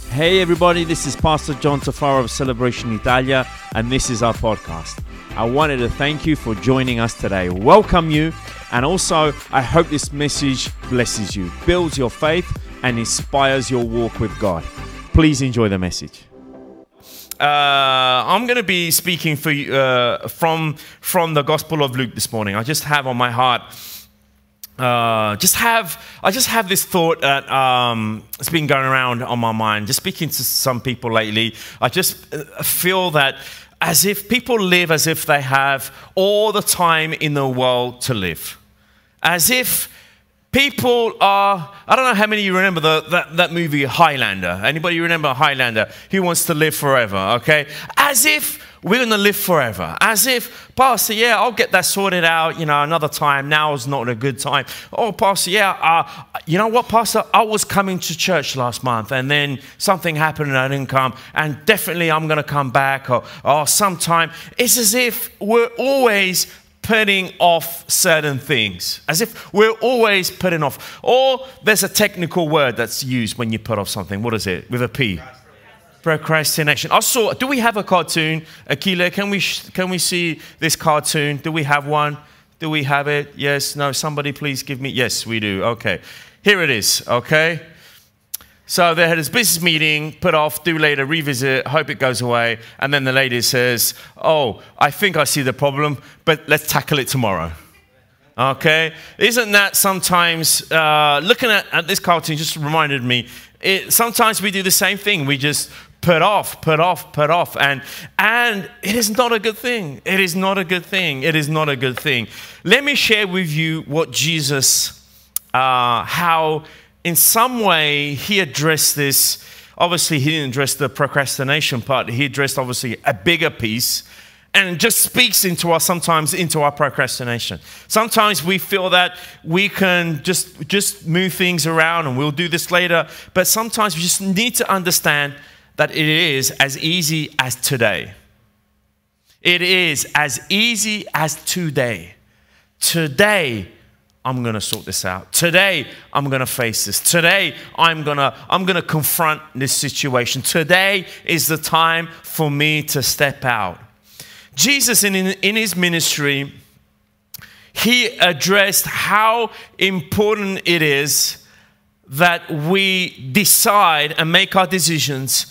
Hey everybody, this is Pastor John Tafaro of Celebration Italia, and this is our podcast. I wanted to thank you for joining us today, welcome you, and also I hope this message blesses you, builds your faith, and inspires your walk with God. Please enjoy the message. I'm going to be speaking for you, from the Gospel of Luke this morning. I just have on my heart, I just have this thought that it's been going around on my mind. Just speaking to some people lately, I just feel that as if people live as if they have all the time in the world to live, as if people are, I don't know how many of you remember that movie Highlander. Anybody remember Highlander? Who wants to live forever, okay? As if we're going to live forever. As if, Pastor, yeah, I'll get that sorted out, another time. Now is not a good time. Oh, Pastor, yeah, you know what, Pastor? I was coming to church last month and then something happened and I didn't come. And definitely I'm going to come back or sometime. It's as if we're always putting off certain things, as if we're always putting off. Or there's a technical word that's used when you put off something. What is it? With a P. Procrastination. Do we have a cartoon? Akila, can we see this cartoon? Do we have one? Do we have it? Yes, no, somebody please give me. Yes, we do. Okay. Here it is, okay? So they had this business meeting, put off, do later, revisit, hope it goes away. And then the lady says, oh, I think I see the problem, but let's tackle it tomorrow. Okay? Isn't that sometimes, looking at this cartoon just reminded me, sometimes we do the same thing. We just put off. And it is not a good thing. It is not a good thing. It is not a good thing. Let me share with you what Jesus, how in some way he addressed this. Obviously, he didn't address the procrastination part. He addressed, obviously, a bigger piece. And it just speaks sometimes into our procrastination. Sometimes we feel that we can just move things around and we'll do this later. But sometimes we just need to understand that it is as easy as today. It is as easy as today. Today, I'm going to sort this out. Today, I'm going to face this. Today, I'm going to confront this situation. Today is the time for me to step out. Jesus, in his ministry, he addressed how important it is that we decide and make our decisions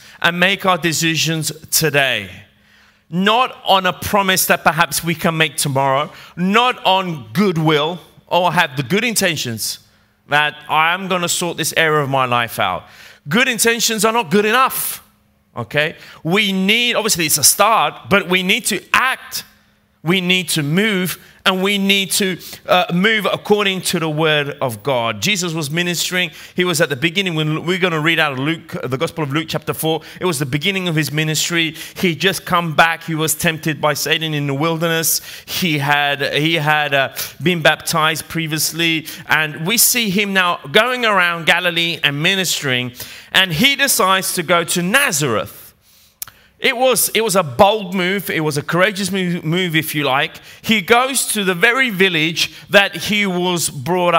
today. Not on a promise that perhaps we can make tomorrow, not on goodwill or have the good intentions that I'm going to sort this area of my life out. Good intentions are not good enough. Okay, we need, obviously it's a start, but we need to act, we need to move, and we need to move according to the word of God. Jesus was ministering. He was at the beginning, when we're going to read out of Luke, the Gospel of Luke chapter 4. It was the beginning of his ministry. He just come back. He was tempted by Satan in the wilderness. He had been baptized previously. And we see him now going around Galilee and ministering. And he decides to go to Nazareth. It was a bold move. It was a courageous move, if you like. He goes to the very village that he was brought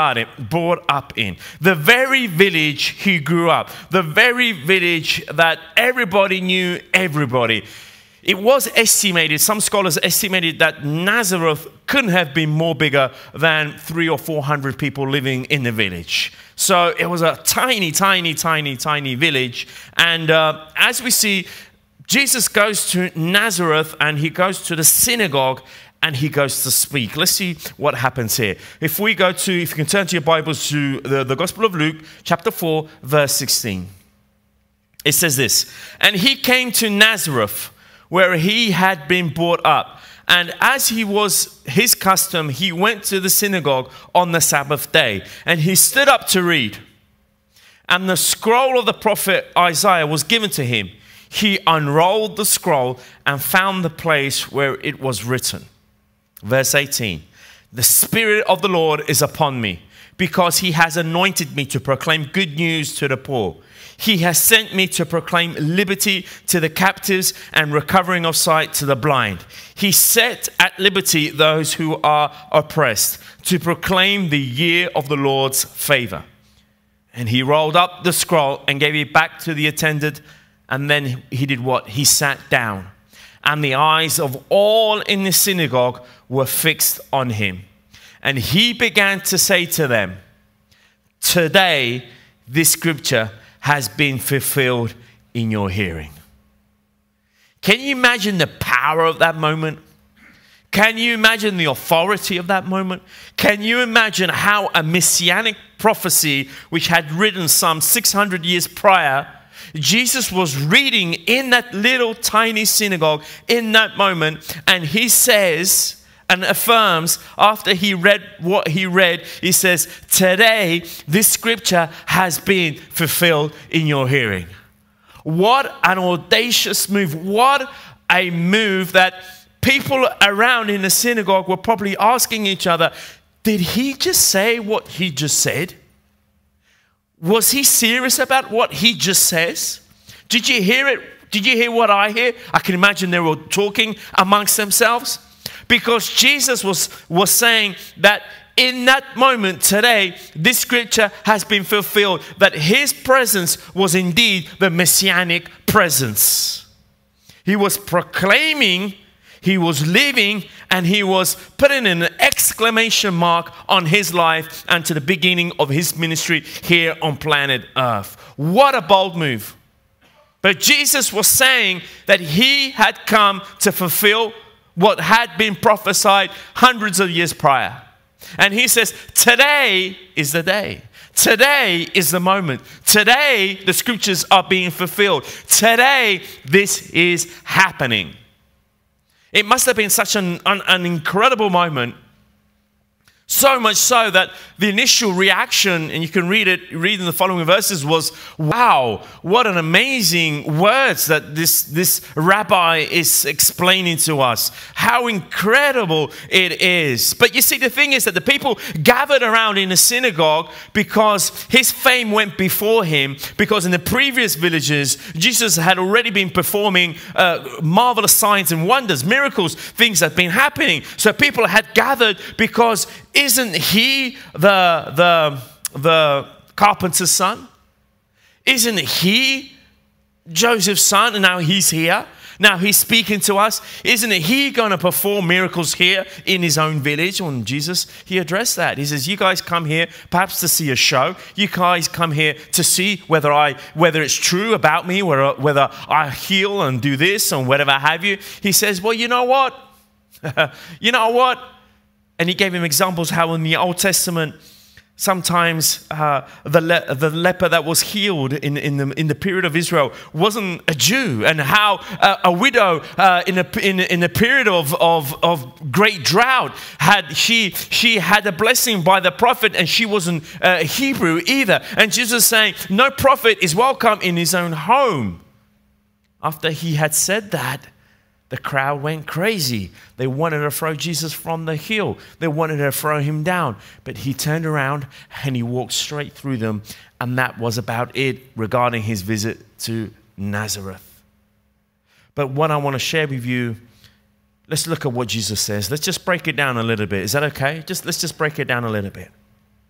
up in. The very village he grew up. The very village that everybody knew everybody. It was estimated, some scholars estimated that Nazareth couldn't have been more bigger than 300 or 400 people living in the village. So it was a tiny village. And as we see, Jesus goes to Nazareth and he goes to the synagogue and he goes to speak. Let's see what happens here. If you can turn to your Bibles to the Gospel of Luke, chapter 4, verse 16. It says this, and he came to Nazareth where he had been brought up. And as he was his custom, he went to the synagogue on the Sabbath day. And he stood up to read. And the scroll of the prophet Isaiah was given to him. He unrolled the scroll and found the place where it was written. Verse 18. The Spirit of the Lord is upon me, because he has anointed me to proclaim good news to the poor. He has sent me to proclaim liberty to the captives and recovering of sight to the blind. He set at liberty those who are oppressed, to proclaim the year of the Lord's favor. And he rolled up the scroll and gave it back to the attendant. And then he did what? He sat down. And the eyes of all in the synagogue were fixed on him. And he began to say to them, today this scripture has been fulfilled in your hearing. Can you imagine the power of that moment? Can you imagine the authority of that moment? Can you imagine how a messianic prophecy, which had written some 600 years prior, Jesus was reading in that little tiny synagogue in that moment, and he says and affirms after he read what he read, he says, today this scripture has been fulfilled in your hearing. What an audacious move. What a move that people around in the synagogue were probably asking each other, did he just say what he just said? Was he serious about what he just says? Did you hear it? Did you hear what I hear? I can imagine they were talking amongst themselves. Because Jesus was saying that in that moment today, this scripture has been fulfilled, that his presence was indeed the messianic presence. He was proclaiming, he was living, and he was putting an exclamation mark on his life and to the beginning of his ministry here on planet Earth. What a bold move. But Jesus was saying that he had come to fulfill what had been prophesied hundreds of years prior. And he says, today is the day. Today is the moment. Today, the scriptures are being fulfilled. Today, this is happening. It must have been such an incredible moment. So much so that the initial reaction, and you can read in the following verses, was, wow, what an amazing words that this rabbi is explaining to us. How incredible it is. But you see, the thing is that the people gathered around in the synagogue because his fame went before him, because in the previous villages, Jesus had already been performing marvelous signs and wonders, miracles, things that had been happening. So people had gathered because isn't he the carpenter's son? Isn't he Joseph's son? And now he's here. Now he's speaking to us. Isn't he going to perform miracles here in his own village? When Jesus, he addressed that. He says, you guys come here perhaps to see a show. You guys come here to see whether it's true about me, whether I heal and do this and whatever have you. He says, well, you know what? You know what? And he gave him examples how in the Old Testament, sometimes the leper that was healed in the period of Israel wasn't a Jew, and how a widow in a period of great drought she had a blessing by the prophet, and she wasn't Hebrew either. And Jesus is saying, no prophet is welcome in his own home. After he had said that, the crowd went crazy. They wanted to throw Jesus from the hill. They wanted to throw him down. But he turned around and he walked straight through them. And that was about it regarding his visit to Nazareth. But what I want to share with you, let's look at what Jesus says. Let's just break it down a little bit. Is that okay? Let's just break it down a little bit.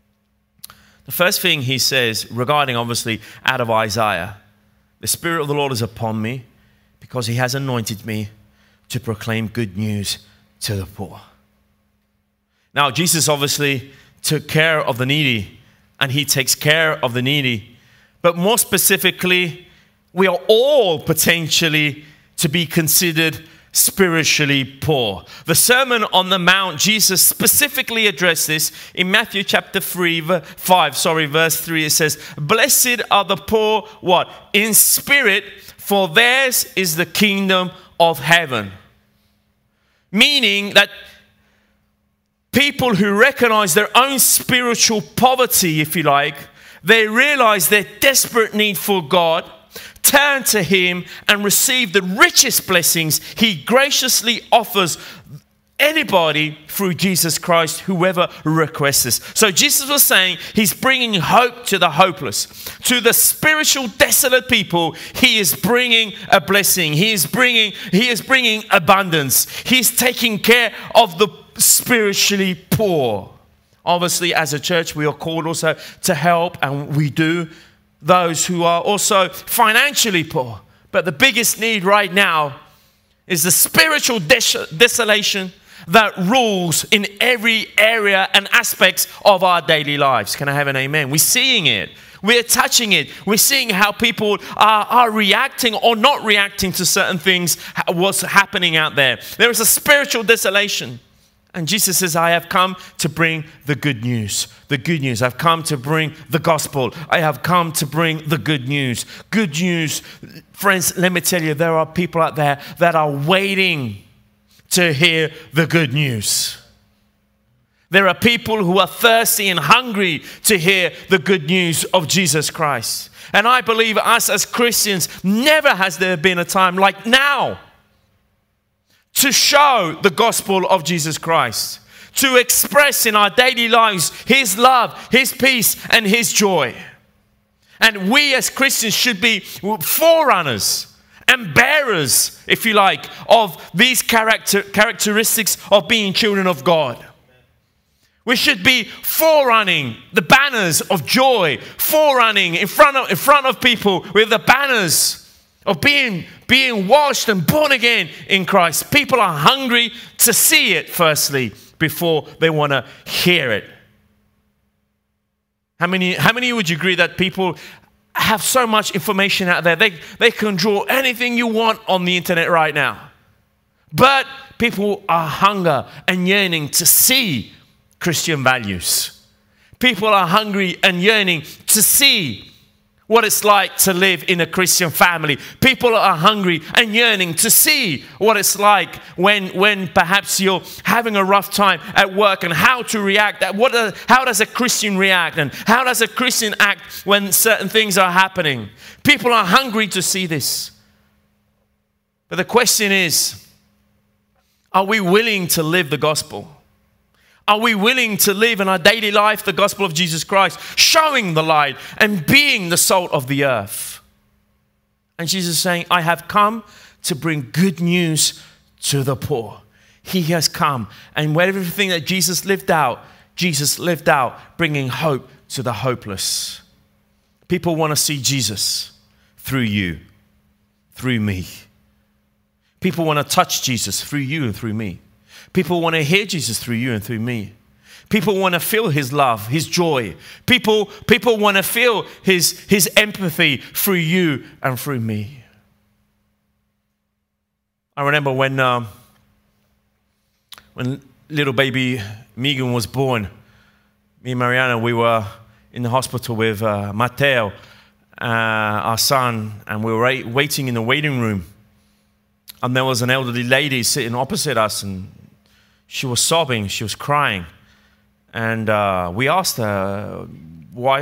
The first thing he says regarding, obviously, out of Isaiah, the Spirit of the Lord is upon me because he has anointed me to proclaim good news to the poor. Now, Jesus obviously took care of the needy, and he takes care of the needy. But more specifically, we are all potentially to be considered spiritually poor. The Sermon on the Mount, Jesus specifically addressed this in Matthew chapter verse 3. It says, blessed are the poor, what? In spirit, for theirs is the kingdom of heaven. Meaning that people who recognize their own spiritual poverty, if you like, they realize their desperate need for God, turn to him and receive the richest blessings he graciously offers anybody through Jesus Christ, whoever requests this. So Jesus was saying he's bringing hope to the hopeless. To the spiritual desolate people, he is bringing a blessing. He is bringing abundance. He's taking care of the spiritually poor. Obviously, as a church, we are called also to help, and we do, those who are also financially poor. But the biggest need right now is the spiritual desolation that rules in every area and aspects of our daily lives. Can I have an amen? We're seeing it. We're touching it. We're seeing how people are reacting or not reacting to certain things, what's happening out there. There is a spiritual desolation. And Jesus says, I have come to bring the good news. The good news. I've come to bring the gospel. I have come to bring the good news. Good news. Friends, let me tell you, there are people out there that are waiting to hear the good news. There are people who are thirsty and hungry to hear the good news of Jesus Christ. And I believe us as Christians, never has there been a time like now to show the gospel of Jesus Christ, to express in our daily lives His love, His peace, and His joy. And we as Christians should be forerunners and bearers, if you like, of these characteristics of being children of God. We should be forerunning the banners of joy, forerunning in front of people with the banners of being washed and born again in Christ. People are hungry to see it firstly before they want to hear it. How many would you agree that people have so much information out there? They can draw anything you want on the internet right now. But people are hungry and yearning to see Christian values. People are hungry and yearning to see what it's like to live in a Christian family. People are hungry and yearning to see what it's like when perhaps you're having a rough time at work, and how to react. How does a Christian react, and how does a Christian act when certain things are happening? People are hungry to see this. But the question is, are we willing to live the gospel? Are we willing to live in our daily life the gospel of Jesus Christ, showing the light and being the salt of the earth? And Jesus is saying, I have come to bring good news to the poor. He has come. And everything that Jesus lived out bringing hope to the hopeless. People want to see Jesus through you, through me. People want to touch Jesus through you and through me. People want to hear Jesus through you and through me. People want to feel His love, His joy. People want to feel His empathy through you and through me. I remember when little baby Megan was born, me and Mariana, we were in the hospital with Matteo, our son, and we were waiting in the waiting room. And there was an elderly lady sitting opposite us, and she was sobbing, she was crying. And we asked her, why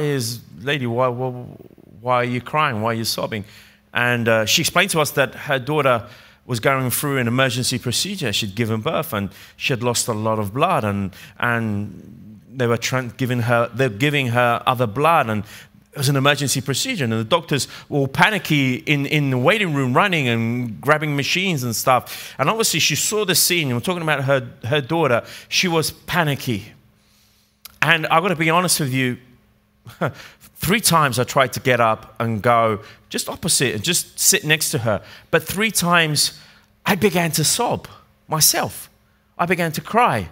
are you crying? Why are you sobbing? And she explained to us that her daughter was going through an emergency procedure. She'd given birth and she had lost a lot of blood, and they were giving her other blood, and it was an emergency procedure, and the doctors were all panicky in the waiting room, running and grabbing machines and stuff. And obviously she saw the scene. We're talking about her daughter. She was panicky. And I've got to be honest with you, 3 times I tried to get up and go just opposite and just sit next to her. But 3 times I began to sob myself. I began to cry.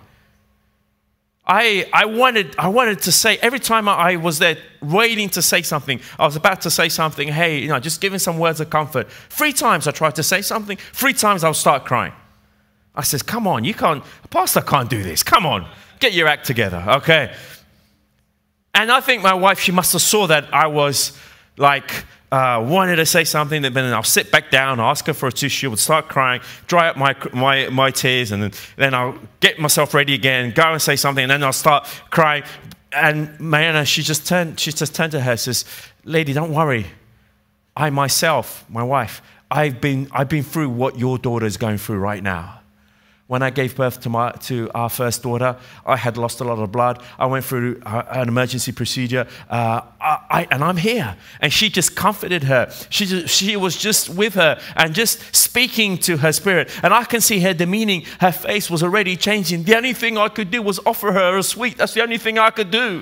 I wanted to say, every time I was there waiting to say something, I was about to say something, hey, just giving some words of comfort. 3 times I tried to say something, 3 times I'll start crying. I says, come on, Pastor can't do this. Come on, get your act together, okay? And I think my wife, she must have saw that I was like, wanted to say something, then I'll sit back down, ask her for a tissue, would start crying, dry up my tears, and then I'll get myself ready again, go and say something, and then I'll start crying. And Mariana, she just turned to her and says, lady, don't worry. I myself, my wife, I've been through what your daughter is going through right now. When I gave birth to our first daughter, I had lost a lot of blood. I went through an emergency procedure, and I'm here. And she just comforted her. She was just with her and just speaking to her spirit. And I can see her demeaning. Her face was already changing. The only thing I could do was offer her a sweet. That's the only thing I could do.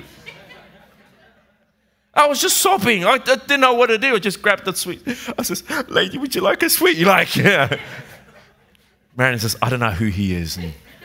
I was just sobbing. I didn't know what to do. I just grabbed that sweet. I says, "Lady, would you like a sweet?" You're like, "Yeah." Marion says, "I don't know who he is."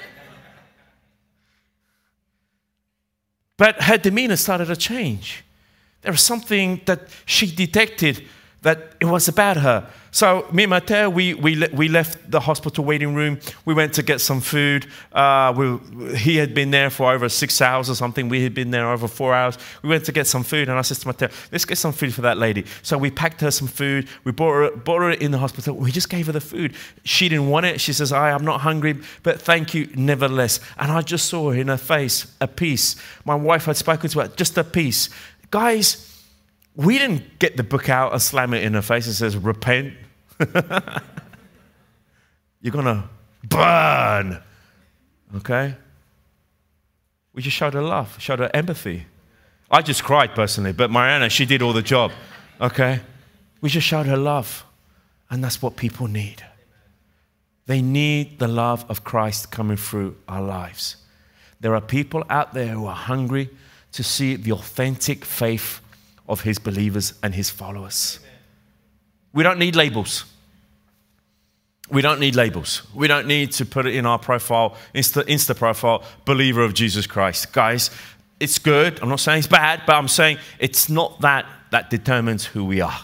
But her demeanor started to change. There was something that she detected that it was about her. So me and Matteo, we left the hospital waiting room. We went to get some food. He had been there for over 6 hours or something. We had been there over 4 hours. We went to get some food, and I said to Matteo, "Let's get some food for that lady." So we packed her some food. We brought her in the hospital. We just gave her the food. She didn't want it. She says, "I'm not hungry, but thank you nevertheless." And I just saw in her face a peace. My wife had spoken to her, just a peace. Guys, we didn't get the book out and slam it in her face and says, "Repent." You're going to burn. Okay? We just showed her love, showed her empathy. I just cried personally, but Mariana, she did all the job. Okay? We just showed her love. And that's what people need. They need the love of Christ coming through our lives. There are people out there who are hungry to see the authentic faith of his believers and his followers. We don't need labels. We don't need labels. We don't need to put it in our profile, Insta profile, believer of Jesus Christ. Guys, it's good. I'm not saying it's bad, but I'm saying it's not that determines who we are.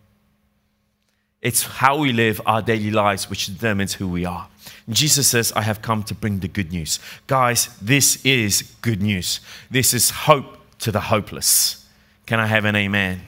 It's how we live our daily lives which determines who we are. Jesus says, "I have come to bring the good news." Guys, this is good news. This is hope to the hopeless. Can I have an amen?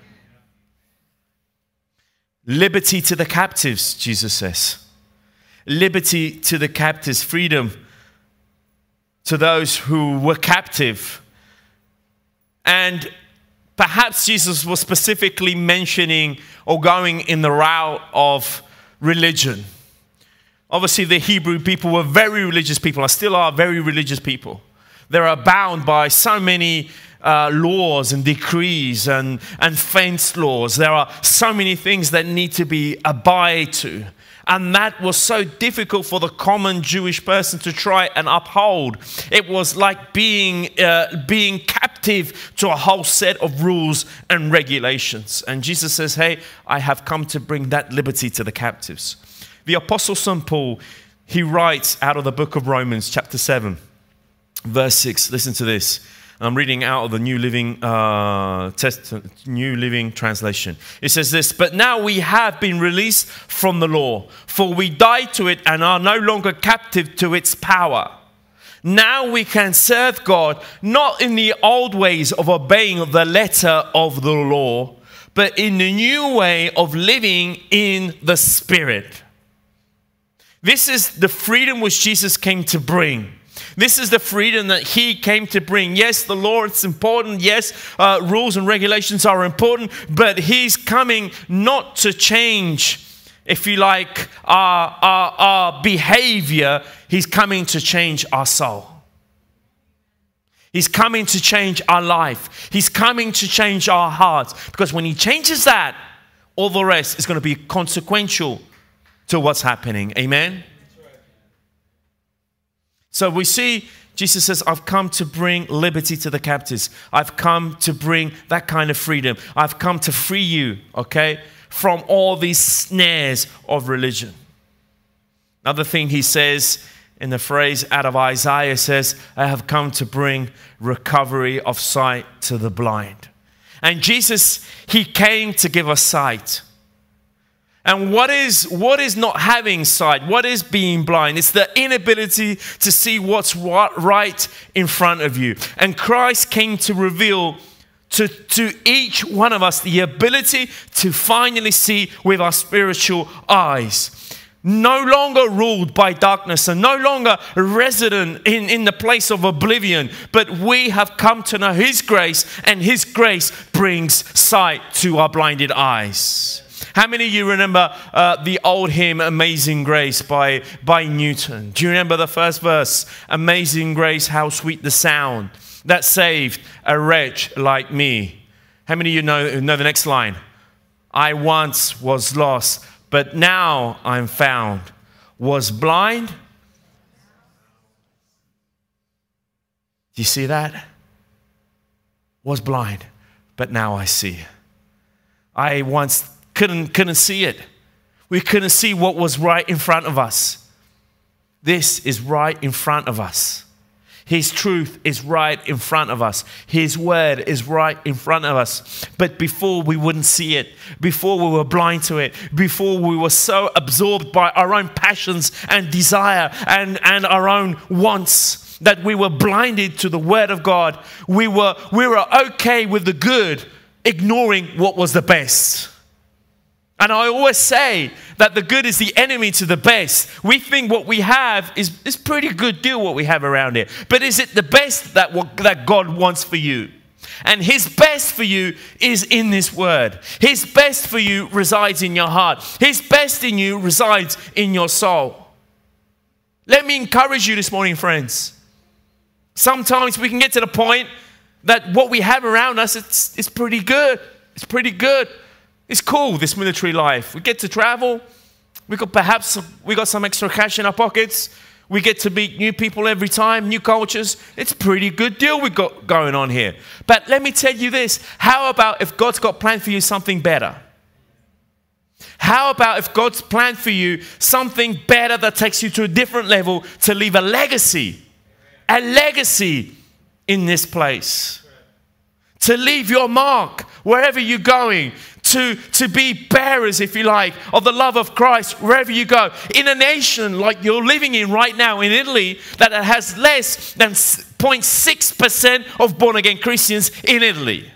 Liberty to the captives, Jesus says. Liberty to the captives, freedom to those who were captive. And perhaps Jesus was specifically mentioning or going in the route of religion. Obviously, the Hebrew people were very religious people, and still are very religious people. They are bound by so many laws and decrees and fence laws. There are so many things that need to be abide to. And that was so difficult for the common Jewish person to try and uphold. It was like being captive to a whole set of rules and regulations. And Jesus says, "Hey, I have come to bring that liberty to the captives." The Apostle St. Paul, he writes out of the book of Romans, chapter 7, verse 6. Listen to this. I'm reading out of the New Living Translation. It says this, "But now we have been released from the law, for we died to it and are no longer captive to its power. Now we can serve God not in the old ways of obeying the letter of the law, but in the new way of living in the Spirit." This is the freedom which Jesus came to bring. This is the freedom that he came to bring. Yes, the law is important. Yes, rules and regulations are important. But he's coming not to change, if you like, our behavior. He's coming to change our soul. He's coming to change our life. He's coming to change our hearts. Because when he changes that, all the rest is going to be consequential to what's happening. Amen? So we see Jesus says, "I've come to bring liberty to the captives. I've come to bring that kind of freedom. I've come to free you, okay, from all these snares of religion." Another thing he says in the phrase out of Isaiah says, "I have come to bring recovery of sight to the blind." And Jesus, he came to give us sight. And what is not having sight? What is being blind? It's the inability to see what's right in front of you. And Christ came to reveal to each one of us the ability to finally see with our spiritual eyes. No longer ruled by darkness and no longer resident in the place of oblivion, but we have come to know his grace, and his grace brings sight to our blinded eyes. How many of you remember the old hymn, Amazing Grace by Newton? Do you remember the first verse? Amazing grace, how sweet the sound that saved a wretch like me. How many of you know the next line? I once was lost, but now I'm found. Was blind. Do you see that? Was blind, but now I see. I once couldn't see it. We couldn't see what was right in front of us. This is right in front of us. His truth is right in front of us. His word is right in front of us. But before we wouldn't see it, before we were blind to it, before we were so absorbed by our own passions and desire and our own wants, that we were blinded to the word of God. We were okay with the good, ignoring what was the best. And I always say that the good is the enemy to the best. We think what we have is pretty good deal, what we have around here. But is it the best that God wants for you? And His best for you is in this word. His best for you resides in your heart. His best in you resides in your soul. Let me encourage you this morning, friends. Sometimes we can get to the point that what we have around us, it's pretty good. It's pretty good. It's cool, this military life. We get to travel. We got some extra cash in our pockets. We get to meet new people every time, new cultures. It's a pretty good deal we got going on here. But let me tell you this. How about if God's got planned for you something better? How about if God's planned for you something better that takes you to a different level to leave a legacy in this place? To leave your mark wherever you're going, to be bearers, if you like, of the love of Christ wherever you go. In a nation like you're living in right now in Italy, that has less than 0.6% of born-again Christians in Italy.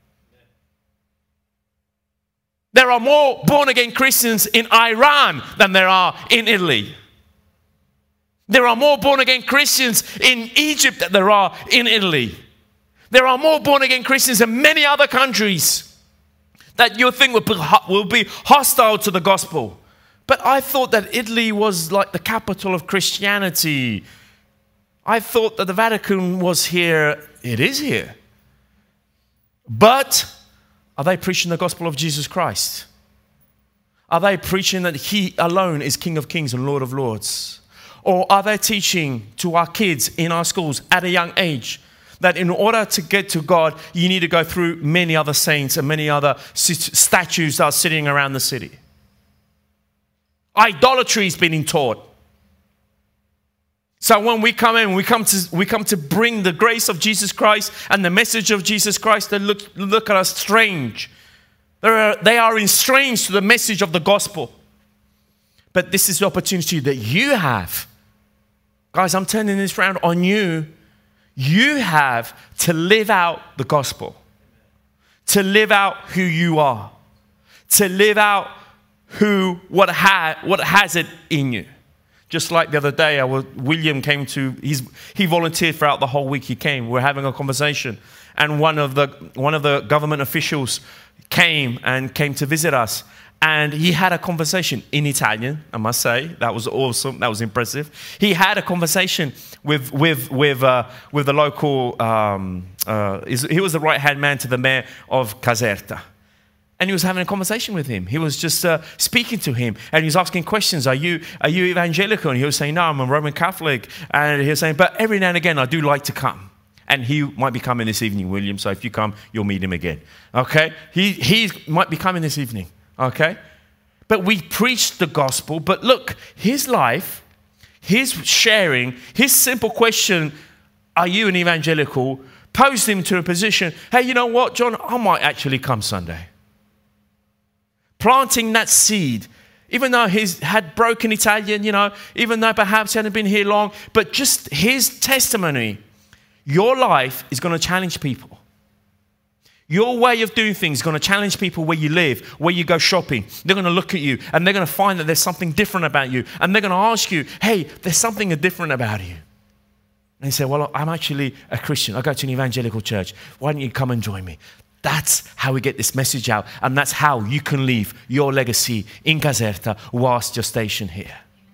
There are more born-again Christians in Iran than there are in Italy. There are more born-again Christians in Egypt than there are in Italy. There are more born-again Christians in many other countries that you think will be hostile to the gospel. But I thought that Italy was like the capital of Christianity. I thought that the Vatican was here. It is here. But are they preaching the gospel of Jesus Christ? Are they preaching that He alone is King of Kings and Lord of Lords? Or are they teaching to our kids in our schools at a young age that in order to get to God, you need to go through many other saints and many other statues that are sitting around the city? Idolatry is being taught. So when we come in, we come to bring the grace of Jesus Christ and the message of Jesus Christ. They look at us strange. They are estranged to the message of the gospel. But this is the opportunity that you have. Guys, I'm turning this round on you. You have to live out the gospel, to live out who you are, to live out what has it in you. Just like the other day, William came he volunteered throughout the whole week. He came. We're having a conversation, and one of the government officials came to visit us. And he had a conversation in Italian, I must say. That was awesome. That was impressive. He had a conversation with the local, he was the right-hand man to the mayor of Caserta. And he was having a conversation with him. He was just speaking to him. And he was asking questions. Are you evangelical? And he was saying, no, I'm a Roman Catholic. And he was saying, but every now and again, I do like to come. And he might be coming this evening, William. So if you come, you'll meet him again. Okay? He might be coming this evening. Okay? But we preach the gospel. But look, his life, his sharing, his simple question, are you an evangelical, posed him to a position, hey, you know what, John, I might actually come Sunday. Planting that seed, even though he's had broken Italian, even though perhaps he hadn't been here long, but just his testimony, your life is going to challenge people. Your way of doing things is going to challenge people where you live, where you go shopping. They're going to look at you and they're going to find that there's something different about you. And they're going to ask you, hey, there's something different about you. And you say, well, I'm actually a Christian. I go to an evangelical church. Why don't you come and join me? That's how we get this message out. And that's how you can leave your legacy in Caserta whilst you're stationed here.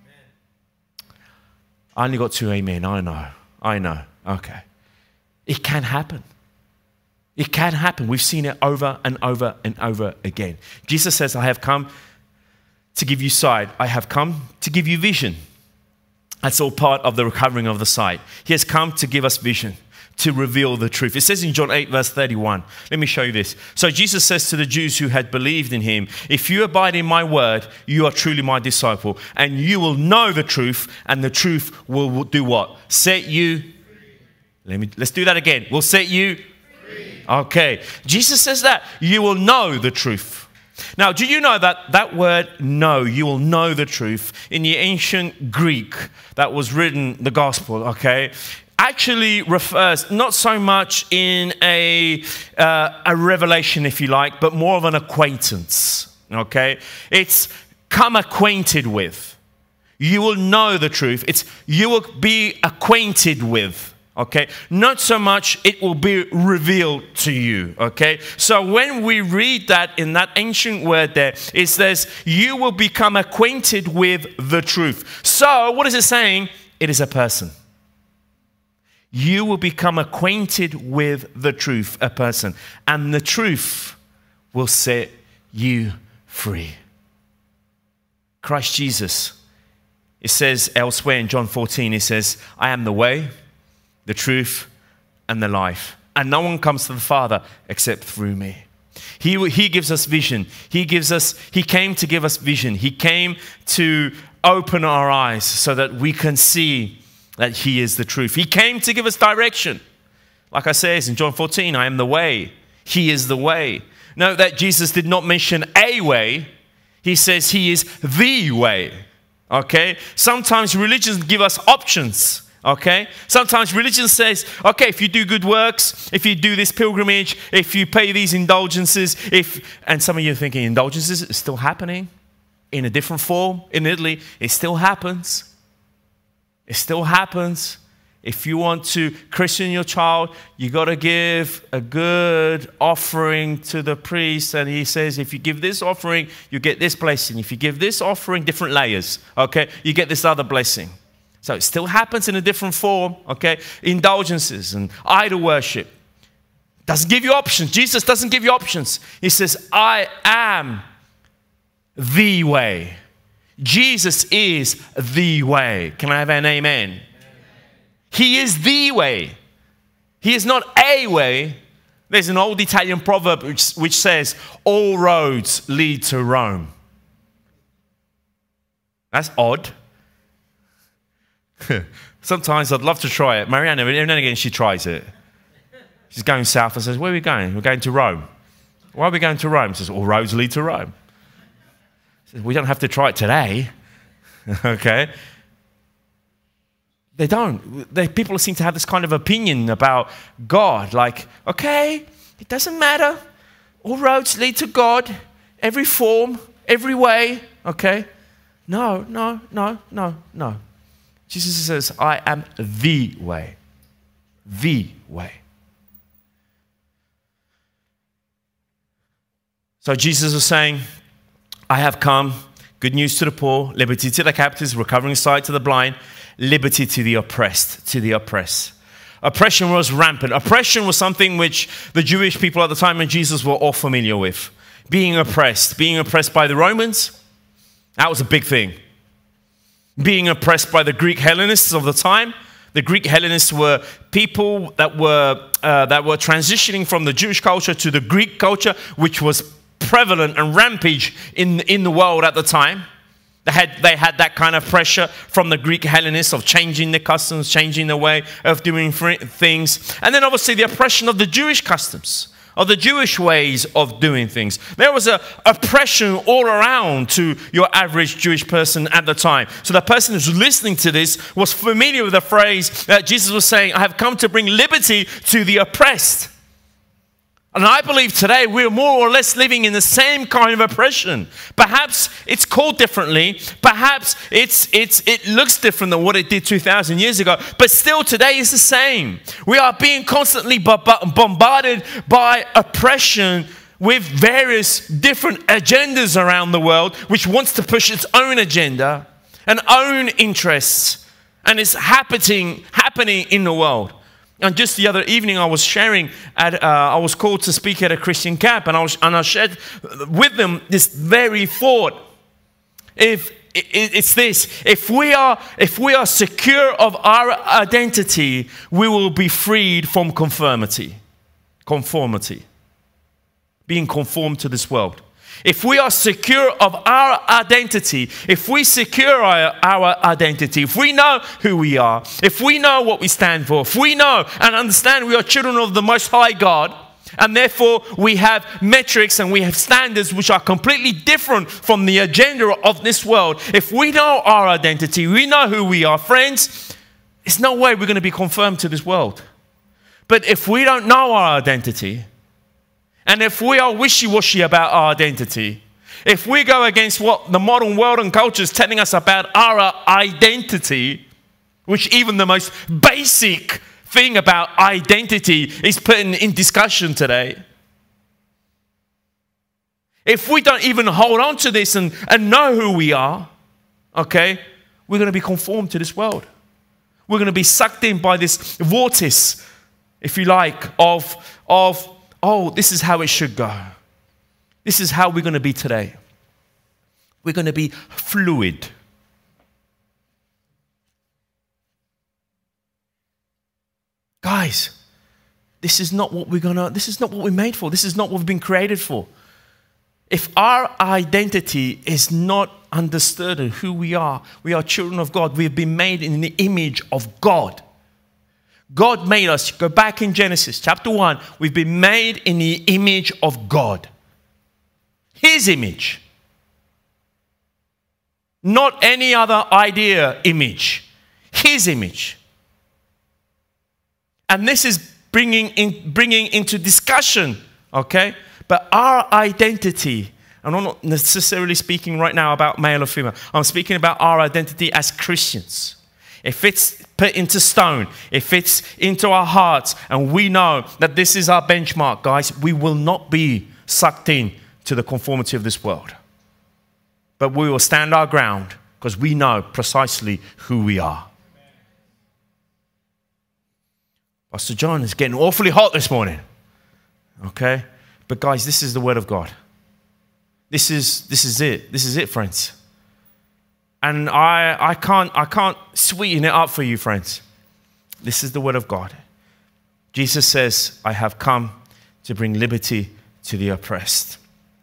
I only got 2 amen. I know. Okay. It can happen. It can happen. We've seen it over and over and over again. Jesus says, I have come to give you sight. I have come to give you vision. That's all part of the recovering of the sight. He has come to give us vision, to reveal the truth. It says in John 8, verse 31. Let me show you this. So Jesus says to the Jews who had believed in him, if you abide in my word, you are truly my disciple, and you will know the truth, and the truth will do what? Set you free. Let's do that again. Will set you free. Okay. Jesus says that. You will know the truth. Now, do you know that word know, you will know the truth, in the ancient Greek that was written, the gospel, okay, actually refers not so much in a revelation, if you like, but more of an acquaintance, okay? It's come acquainted with. You will know the truth. It's you will be acquainted with. Okay, not so much it will be revealed to you. Okay, so when we read that in that ancient word there, it says you will become acquainted with the truth. So what is it saying? It is a person. You will become acquainted with the truth, a person, and the truth will set you free. Christ Jesus. It says elsewhere in John 14, it says, I am the way, the truth, and the life. And no one comes to the Father except through me. He gives us vision. He came to give us vision. He came to open our eyes so that we can see that he is the truth. He came to give us direction. Like I says in John 14, I am the way. He is the way. Note that Jesus did not mention a way. He says he is the way. Okay? Sometimes religions give us options. Okay? Sometimes religion says, okay, if you do good works, if you do this pilgrimage, if you pay these indulgences, and some of you are thinking, indulgences is still happening in a different form in Italy. It still happens. It still happens. If you want to christen your child, you got to give a good offering to the priest. And he says, if you give this offering, you get this blessing. If you give this offering, different layers, okay, you get this other blessing. So it still happens in a different form, okay? Indulgences and idol worship. Doesn't give you options. Jesus doesn't give you options. He says, I am the way. Jesus is the way. Can I have an amen? Amen. He is the way. He is not a way. There's an old Italian proverb which says, all roads lead to Rome. That's odd. Sometimes I'd love to try it. Mariana, every now and again, she tries it. She's going south and says, where are we going? We're going to Rome. Why are we going to Rome? She says, all roads lead to Rome. Says, we don't have to try it today. Okay? They don't. People seem to have this kind of opinion about God. Like, okay, it doesn't matter. All roads lead to God. Every form, every way. Okay? No. Jesus says, I am the way. The way. So Jesus was saying, I have come, good news to the poor, liberty to the captives, recovering sight to the blind, liberty to the oppressed, Oppression was rampant. Oppression was something which the Jewish people at the time of Jesus were all familiar with. Being oppressed by the Romans, that was a big thing. Being oppressed by the Greek Hellenists of the time. The Greek Hellenists were people that were transitioning from the Jewish culture to the Greek culture, which was prevalent and rampage in the world at the time. They had that kind of pressure from the Greek Hellenists of changing their customs, changing the way of doing things. And then obviously the oppression of the Jewish customs, of the Jewish ways of doing things. There was an oppression all around to your average Jewish person at the time. So the person who's listening to this was familiar with the phrase that Jesus was saying, I have come to bring liberty to the oppressed. And I believe today we're more or less living in the same kind of oppression. Perhaps it's called differently. Perhaps it looks different than what it did 2,000 years ago. But still today is the same. We are being constantly bombarded by oppression with various different agendas around the world, which wants to push its own agenda and own interests. And it's happening in the world. And just the other evening, I was sharing I was called to speak at a Christian camp, and I shared with them this very thought. If we are secure of our identity, we will be freed from conformity, being conformed to this world. If we are secure of our identity, if we secure our identity, if we know who we are, if we know what we stand for, if we know and understand we are children of the Most High God, and therefore we have metrics and we have standards which are completely different from the agenda of this world. If we know our identity, we know who we are, friends, there's no way we're going to be conformed to this world. But if we don't know our identity, and if we are wishy-washy about our identity, if we go against what the modern world and culture is telling us about our identity, which even the most basic thing about identity is put in discussion today. If we don't even hold on to this and know who we are, okay, we're going to be conformed to this world. We're going to be sucked in by this vortex, if you like, of oh, this is how it should go. This is how we're going to be today. We're going to be fluid. Guys, this is not what we're made for. This is not what we've been created for. If our identity is not understood in who we are children of God. We have been made in the image of God. God made us. Go back in Genesis chapter 1. We've been made in the image of God. His image. Not any other idea image. His image. And this is bringing into discussion, okay? But our identity, and I'm not necessarily speaking right now about male or female. I'm speaking about our identity as Christians. If it's put into stone, if it's into our hearts, and we know that this is our benchmark, guys, we will not be sucked in to the conformity of this world. But we will stand our ground because we know precisely who we are. Pastor John is getting awfully hot this morning. Okay? But guys, this is the word of God. This is it. This is it, friends. And I can't sweeten it up for you, friends. This is the word of God. Jesus says, I have come to bring liberty to the oppressed.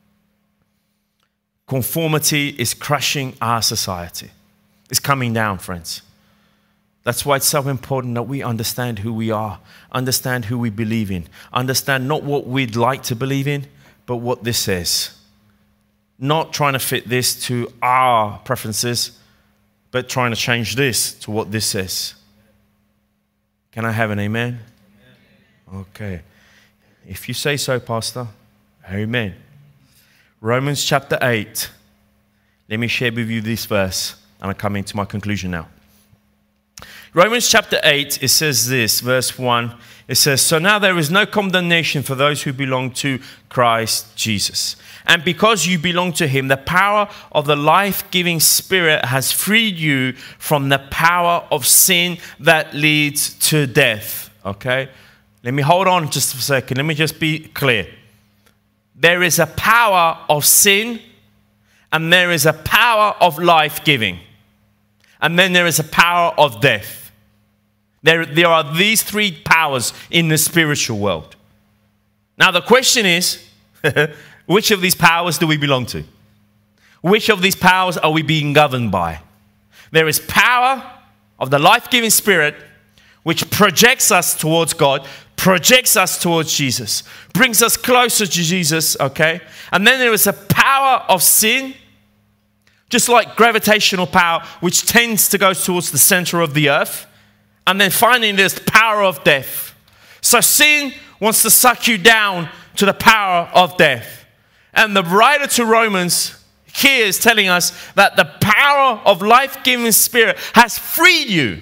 Conformity is crushing our society. It's coming down, friends. That's why it's so important that we understand who we are, understand who we believe in, understand not what we'd like to believe in, but what this says. Not trying to fit this to our preferences, but trying to change this to what this says. Can I have an amen? Okay. If you say so, Pastor, amen. Romans chapter 8. Let me share with you this verse, and I'm coming to my conclusion now. Romans chapter 8, it says this, verse 1. It says, so now there is no condemnation for those who belong to Christ Jesus. And because you belong to him, the power of the life-giving Spirit has freed you from the power of sin that leads to death. Okay? Let me hold on just a second. Let me just be clear. There is a power of sin, and there is a power of life-giving. And then there is a power of death. There are these three powers in the spiritual world. Now the question is, which of these powers do we belong to? Which of these powers are we being governed by? There is power of the life-giving Spirit, which projects us towards God, projects us towards Jesus, brings us closer to Jesus, okay? And then there is a power of sin, just like gravitational power, which tends to go towards the center of the earth. And then finally, there's the power of death. So sin wants to suck you down to the power of death. And the writer to Romans here is telling us that the power of life-giving Spirit has freed you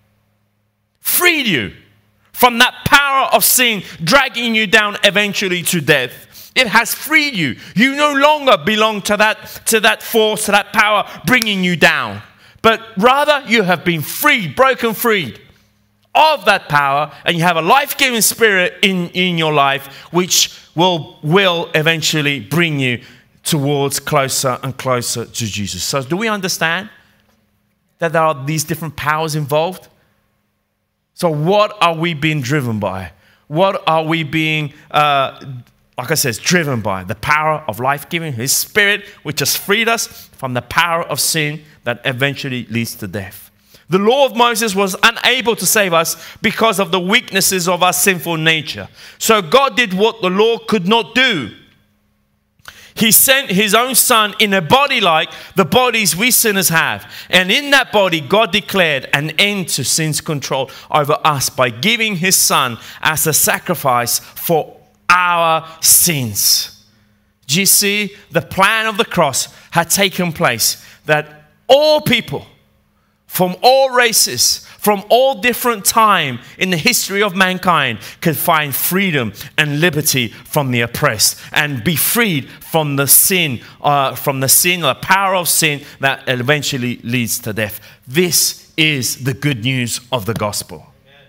from that power of sin dragging you down eventually to death. It has freed you. You no longer belong to that force, to that power bringing you down. But rather you have been freed, broken free of that power, and you have a life-giving Spirit in your life which will eventually bring you towards closer and closer to Jesus. So do we understand that there are these different powers involved? So what are we being driven by? What are we being, like I said, driven by? The power of life-giving, His Spirit, which has freed us from the power of sin that eventually leads to death. The law of Moses was unable to save us because of the weaknesses of our sinful nature. So God did what the law could not do. He sent His own Son in a body like the bodies we sinners have. And in that body, God declared an end to sin's control over us by giving His Son as a sacrifice for our sins. Do you see? The plan of the cross had taken place, that all people from all races, from all different time in the history of mankind could find freedom and liberty from the oppressed and be freed from the sin, or the power of sin that eventually leads to death. This is the good news of the gospel.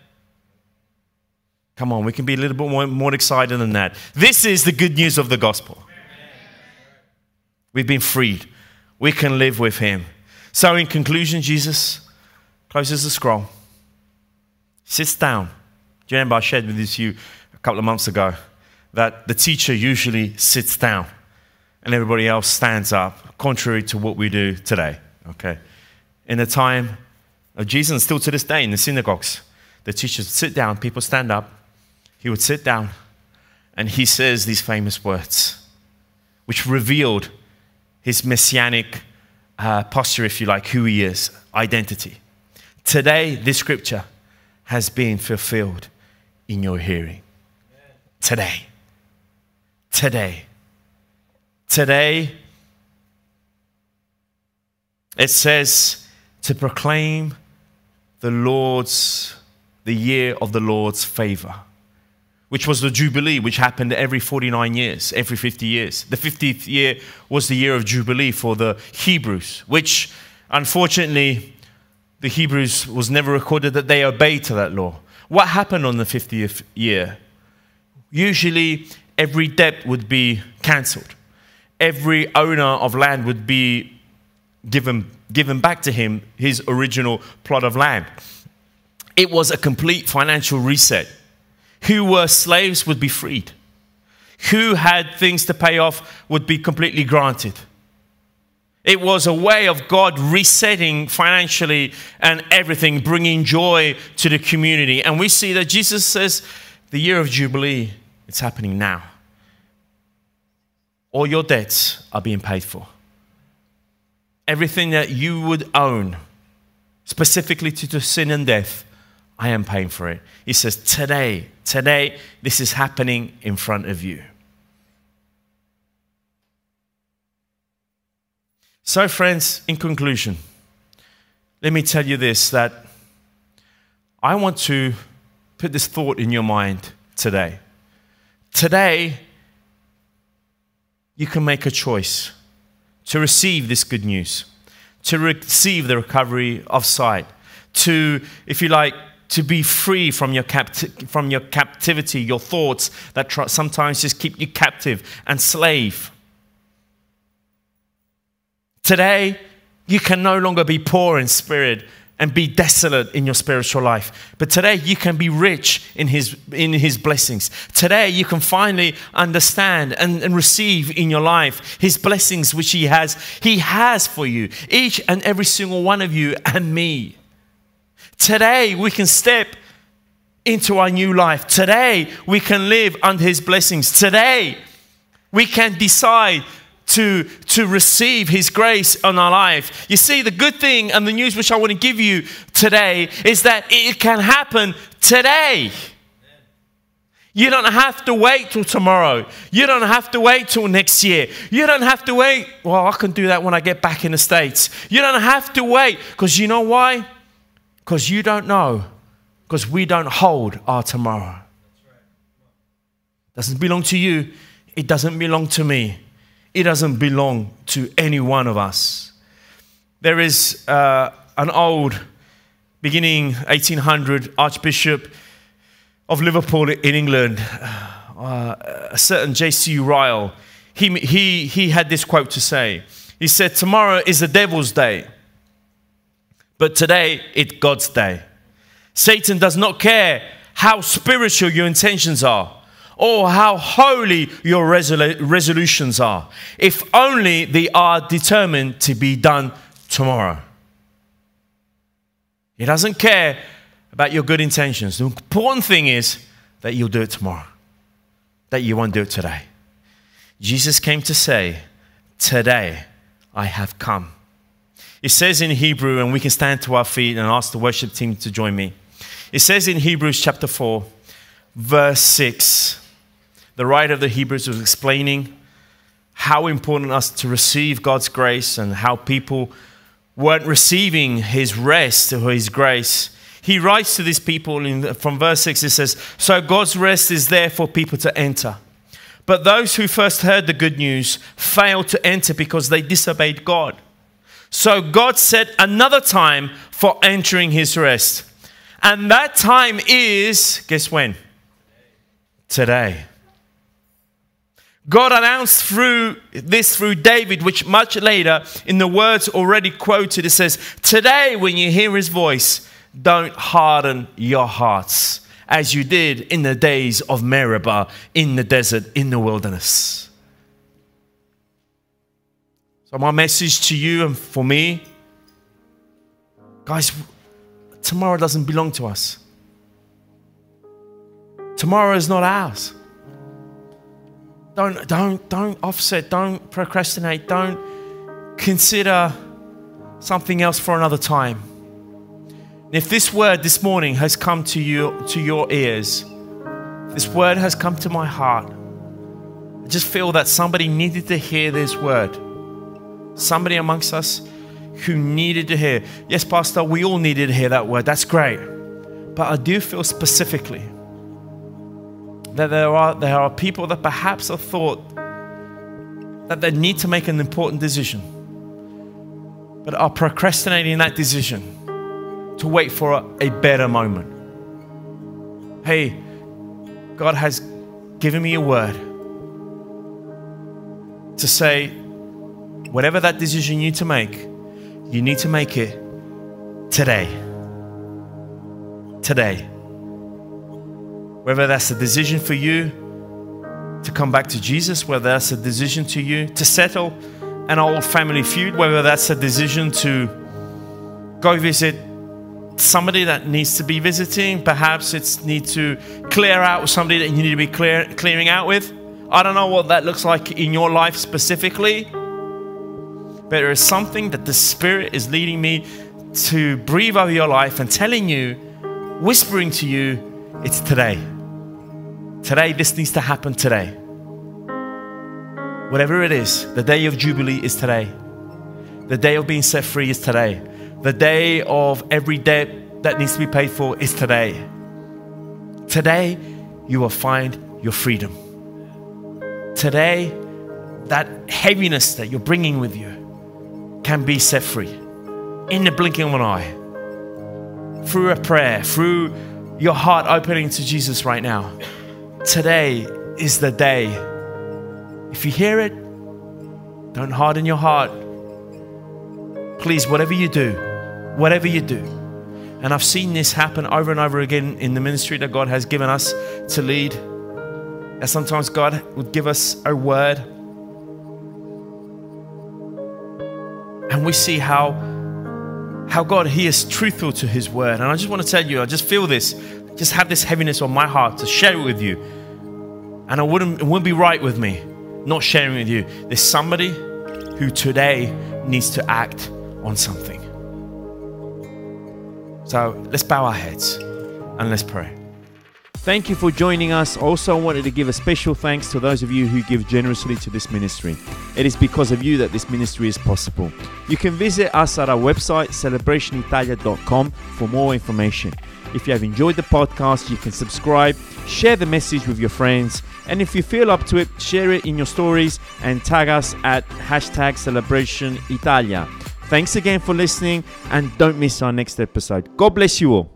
Come on, we can be a little bit more excited than that. This is the good news of the gospel. We've been freed. We can live with Him. So in conclusion, Jesus closes the scroll, sits down. Do you remember I shared with you a couple of months ago that the teacher usually sits down and everybody else stands up, contrary to what we do today, okay? In the time of Jesus, and still to this day in the synagogues, the teachers would sit down, people stand up. He would sit down and He says these famous words, which revealed His messianic posture, if you like, who He is, identity. Today, this scripture has been fulfilled in your hearing. Today. It says to proclaim the year of the Lord's favor, which was the Jubilee, which happened every 49 years, every 50 years. The 50th year was the year of Jubilee for the Hebrews, which unfortunately the Hebrews was never recorded that they obeyed to that law. What happened on the 50th year? Usually every debt would be cancelled. Every owner of land would be given back to him his original plot of land. It was a complete financial reset. Who were slaves would be freed. Who had things to pay off would be completely granted. It was a way of God resetting financially and everything, bringing joy to the community. And we see that Jesus says, the year of Jubilee, it's happening now. All your debts are being paid for. Everything that you would own, specifically to sin and death, I am paying for it. He says, today, this is happening in front of you. So friends, in conclusion, let me tell you this, that I want to put this thought in your mind today. Today, you can make a choice to receive this good news, to receive the recovery of sight, to, if you like, to be free from your captivity, your thoughts that sometimes just keep you captive and slave. Today, you can no longer be poor in spirit and be desolate in your spiritual life. But today, you can be rich in His blessings. Today, you can finally understand and receive in your life His blessings which He has for you, each and every single one of you and me. Today, we can step into our new life. Today, we can live under His blessings. Today, we can decide to receive His grace on our life. You see, the good thing and the news which I want to give you today is that it can happen today. You don't have to wait till tomorrow. You don't have to wait till next year. You don't have to wait. Well, I can do that when I get back in the States. You don't have to wait, because you know why? Because you don't know. Because we don't hold our tomorrow. It doesn't belong to you. It doesn't belong to me. It doesn't belong to any one of us. There is an old, beginning 1800 Archbishop of Liverpool in England, a certain J.C. Ryle. He had this quote to say. He said, "Tomorrow is the devil's day, but today it's God's day. Satan does not care how spiritual your intentions are or how holy your resolutions are, if only they are determined to be done tomorrow." He doesn't care about your good intentions. The important thing is that you'll do it tomorrow, that you won't do it today. Jesus came to say, "Today I have come." It says in Hebrew, and we can stand to our feet and ask the worship team to join me. It says in Hebrews chapter 4, verse 6, the writer of the Hebrews was explaining how important it is to receive God's grace and how people weren't receiving his rest or his grace. He writes to these people from verse 6, it says, "So God's rest is there for people to enter. But those who first heard the good news failed to enter because they disobeyed God. So God set another time for entering his rest. And that time is," guess when? Today. God announced through David, which much later in the words already quoted, it says, "Today when you hear his voice, don't harden your hearts as you did in the days of Meribah, in the desert, in the wilderness." So my message to you and for me, guys, tomorrow doesn't belong to us. Tomorrow is not ours. Don't offset, don't procrastinate, don't consider something else for another time. If this word this morning has come to you, to your ears, this word has come to my heart, I just feel that somebody needed to hear this word. Somebody amongst us who needed to hear. Yes, Pastor, we all needed to hear that word. That's great. But I do feel specifically that there are people that perhaps have thought that they need to make an important decision, but are procrastinating that decision to wait for a better moment. Hey, God has given me a word to say, whatever that decision you need to make it today. Today. Whether that's a decision for you to come back to Jesus, whether that's a decision to you to settle an old family feud, whether that's a decision to go visit somebody that needs to be visiting, perhaps it's need to clear out with somebody that you need to be clearing out with. I don't know what that looks like in your life specifically, but there is something that the Spirit is leading me to breathe over your life and telling you, whispering to you, it's today. Today, this needs to happen today. Whatever it is, the day of Jubilee is today. The day of being set free is today. The day of every debt that needs to be paid for is today. Today, you will find your freedom. Today, that heaviness that you're bringing with you can be set free in the blinking of an eye. Through a prayer, through your heart opening to Jesus right now. Today is the day. If you hear it, don't harden your heart. Please, whatever you do, and I've seen this happen over and over again in the ministry that God has given us to lead, that sometimes God would give us a word and we see how God, He is truthful to His word. And I just want to tell you, I just feel this, just have this heaviness on my heart to share it with you. And it wouldn't be right with me not sharing with you. There's somebody who today needs to act on something. So let's bow our heads and let's pray. Thank you for joining us. Also, I wanted to give a special thanks to those of you who give generously to this ministry. It is because of you that this ministry is possible. You can visit us at our website, celebrationitalia.com, for more information. If you have enjoyed the podcast, you can subscribe, share the message with your friends, and if you feel up to it, share it in your stories and tag us at #CelebrationItalia. Thanks again for listening, and don't miss our next episode. God bless you all.